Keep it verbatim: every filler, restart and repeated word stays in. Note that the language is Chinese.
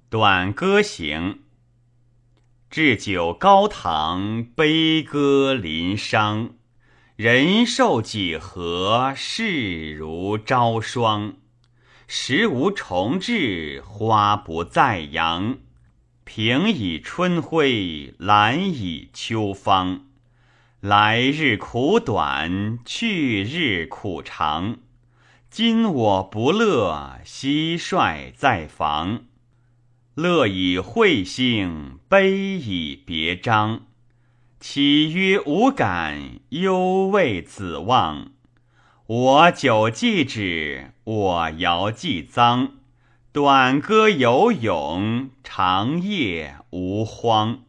短歌行。置酒高堂，悲歌临觞。人寿几何，事如朝霜。时无重至，花不再扬。平以春晖，懒以秋芳。来日苦短，去日苦长。今我不乐，蟋蟀在房。乐以会兴，悲以别章。岂曰无感，犹未子望。我酒既止，我肴既臧。短歌有咏，长夜无荒。